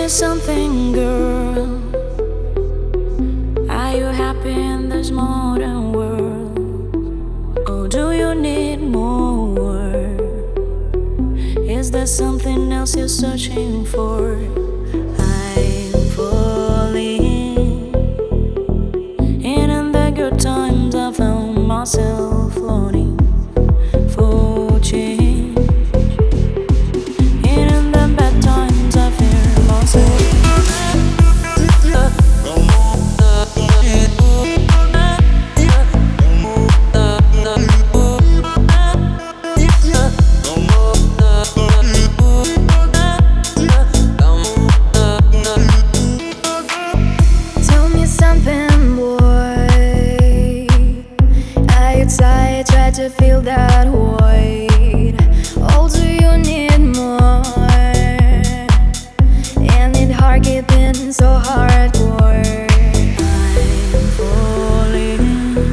something, girl? Are you happy in this modern world? Or do you need more? Is there something else you're searching for? I'm falling, and in the good times I found myself longing for change, and in the bad times I fear myself. I try to fill that void. Oh, do you need more? And it hard keeping so hardcore. I'm falling,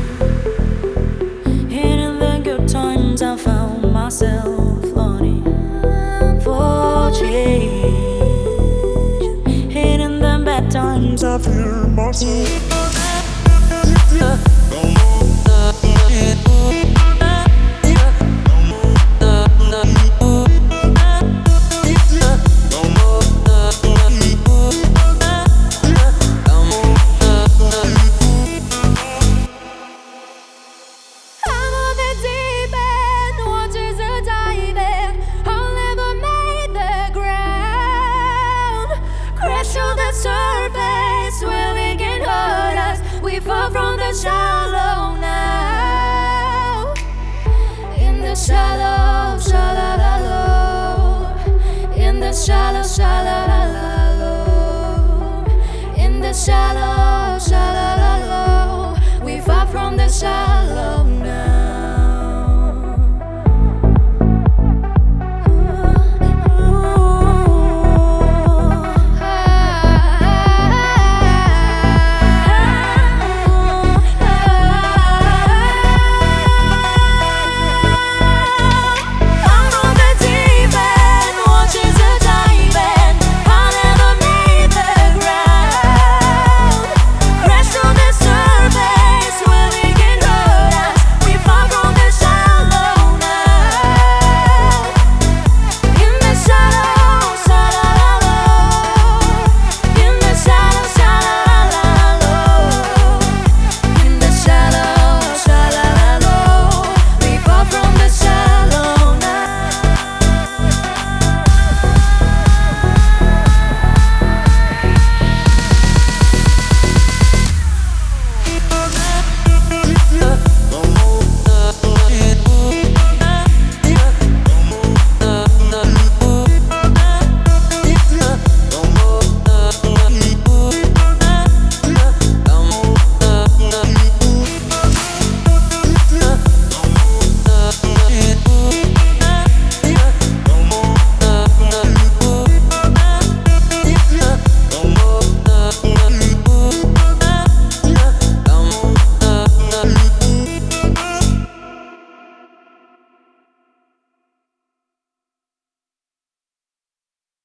and in the good times I found myself longing for change, and in the bad times I fear myself. Surface where we can hurt us. We fall from the shallow now. In the shallow, shallow, in the shallow, shallow.